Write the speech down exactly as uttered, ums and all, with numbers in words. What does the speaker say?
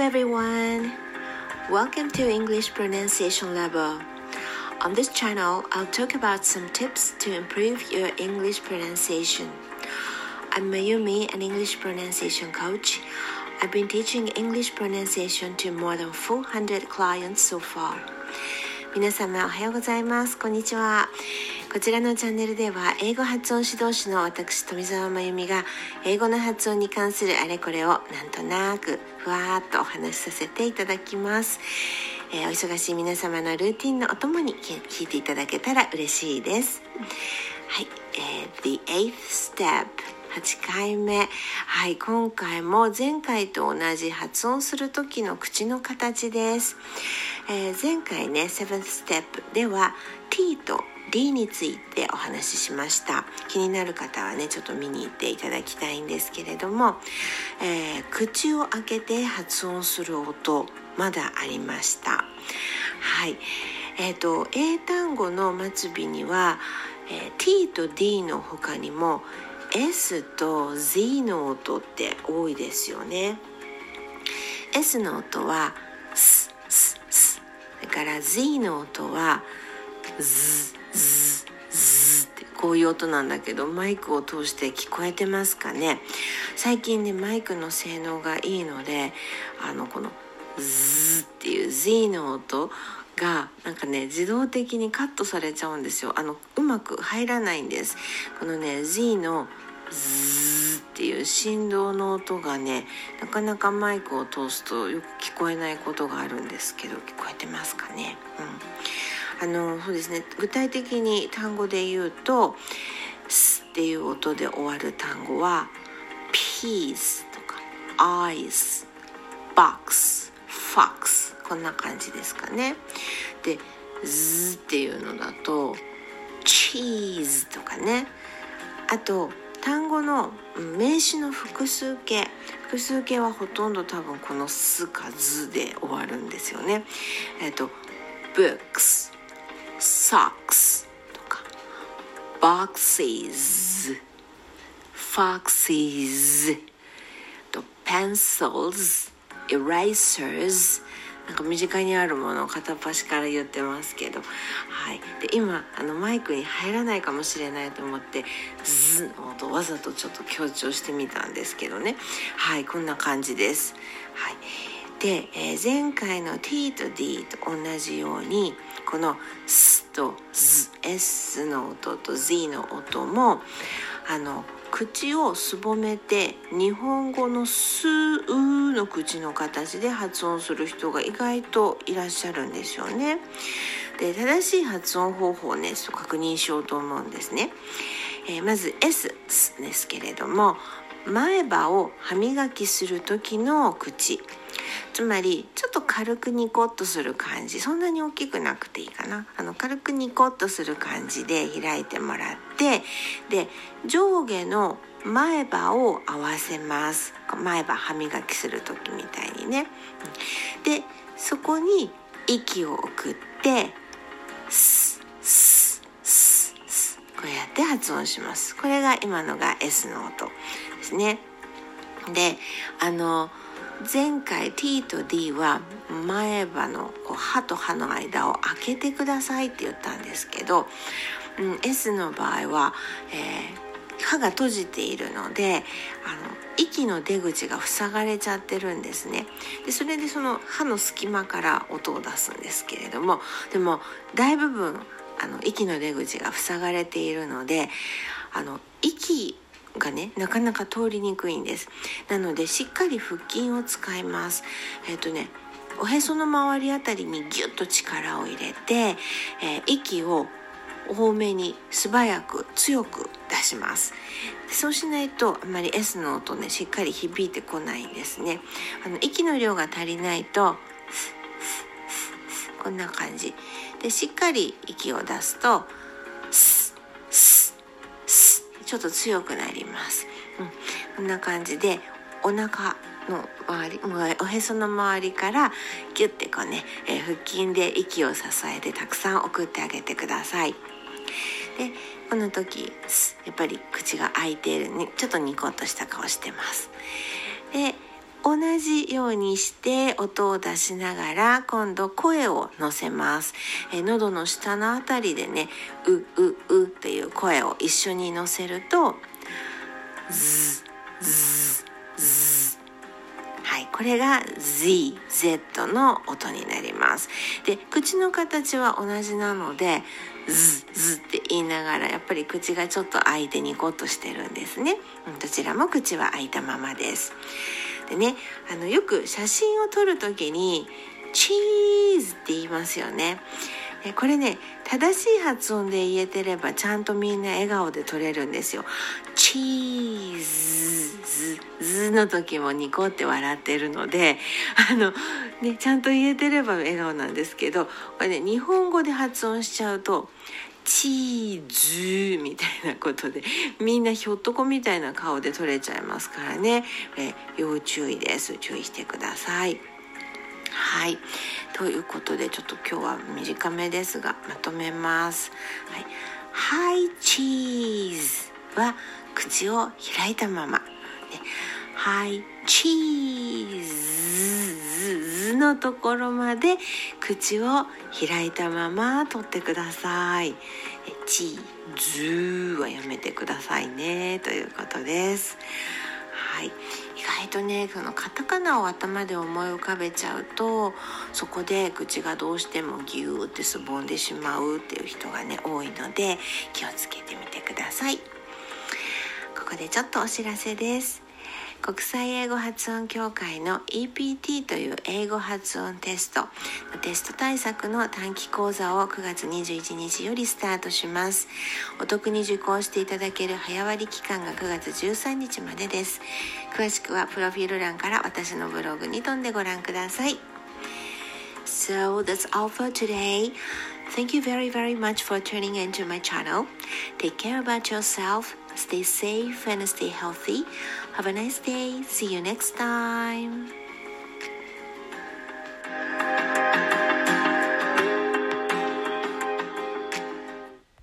everyone. Welcome to English Pronunciation Level. On this channel, I'll talk about some tips to improve your English pronunciation. I'm Mayumi, an English pronunciation coach. I've been teaching English pronunciation to more than four hundred clients so far. 皆様おはようございます。こんにちは。こちらのチャンネルでは英語発音指導士の私富澤真由美が英語の発音に関するあれこれをなんとなくふわーっとお話しさせていただきます。えー、お忙しい皆様のルーティンのお供に聞いていただけたら嬉しいです。はい、えー、The eighth step、はちかいめ。はい、今回も前回と同じ発音する時の口の形です。えー、前回ね seventh step では T と D についてお話ししました。気になる方はねちょっと見に行っていただきたいんですけれども、えー、口を開けて発音する音まだありました。はい、えーと英単語の末尾には、えー、T と D の他にも S と Z の音って多いですよね。 S の音はススス、だから Z の音はズズズってこういう音なんだけど、マイクを通して聞こえてますかね。最近ねマイクの性能がいいので、あのこのズっていう Z の音がなんかね自動的にカットされちゃうんですよ。あのうまく入らないんです。このね Z のズーっていう振動の音がねなかなかマイクを通すとよく聞こえないことがあるんですけど、聞こえてますかね。うん、あのそうですね、具体的に単語で言うとスっていう音で終わる単語は peas とか eyes、box、fox、こんな感じですかね。でズっていうのだと cheese とかね。あと単語の名詞の複数形複数形はほとんど多分このすかずで終わるんですよね。えっと books、socks とか boxes、foxes と pencils、erasers、なんか身近にあるものを片っ端から言ってますけど、はい、で今あのマイクに入らないかもしれないと思ってズの音わざとちょっと強調してみたんですけどね。はい、こんな感じです。はい、で、えー、前回の T と D と同じようにこのスとズ、S の音と Z の音もあの口をすぼめて日本語のスーの口の形で発音する人が意外といらっしゃるんですよね。で正しい発音方法をねちょっと確認しようと思うんですね。えー、まず S ですけれども、前歯を歯磨きする時の口、つまりちょっと軽くニコッとする感じ、そんなに大きくなくていいかな、あの軽くニコッとする感じで開いてもらって、で上下の前歯を合わせます。前歯歯磨きする時みたいにね。でそこに息を送ってスススス、こうやって発音します。これが今のが S の音ですね。であの前回 T と D は前歯のこう歯と歯の間を開けてくださいって言ったんですけど、うん、S の場合は、えー、歯が閉じているのであの息の出口が塞がれちゃってるんですね。でそれでその歯の隙間から音を出すんですけれども、でも大部分あの息の出口が塞がれているのであの息がねなかなか通りにくいんです。なのでしっかり腹筋を使います。えっとねおへその周りあたりにギュッと力を入れて、えー、息を多めに素早く強く出します。そうしないとあまり S の音ねしっかり響いてこないんですね。あの息の量が足りないとこんな感じでしっかり息を出すとスススちょっと強くなります。うん、こんな感じでお腹の周り、おへその周りからギュッてこうね、えー、腹筋で息を支えてたくさん送ってあげてください。でこの時やっぱり口が開いているね、ちょっとニコッとした顔してます。で同じようにして音を出しながら今度声を乗せます。え喉の下のあたりでね、うううっていう声を一緒に乗せるとズズズ、はい、これが Z、Z の音になります。で、口の形は同じなのでズズって言いながらやっぱり口がちょっと開いてニコッとしてるんですね。どちらも口は開いたままです。でね、あのよく写真を撮るときにチーズって言いますよね。これね、正しい発音で言えてればちゃんとみんな笑顔で撮れるんですよ。チーズズの時もニコって笑ってるので、あのね、ちゃんと言えてれば笑顔なんですけど、これね、日本語で発音しちゃうとチーズみたいなことでみんなひょっとこみたいな顔で撮れちゃいますからね、え要注意です。注意してください。はい、ということでちょっと今日は短めですがまとめます。はい、Hi cheese は口を開いたまま、Hi cheese のところまで口を開いたまま取ってください。チーズはやめてくださいねということです。はい、意外とね、このカタカナを頭で思い浮かべちゃうとそこで口がどうしてもギューってすぼんでしまうっていう人がね多いので気をつけてみてください。ここでちょっとお知らせです。国際英語発音協会の イーピーティー という英語発音テストテスト対策の短期講座をくがつにじゅういちにちよりスタートします。お得に受講していただける早割期間がくがつじゅうさんにちまでです。詳しくはプロフィール欄から私のブログに飛んでご覧ください。 So that's all for today. Thank you very very much for tuning into my channel. Take care about yourself. Stay safe and stay healthy. Have a nice day. See you next time.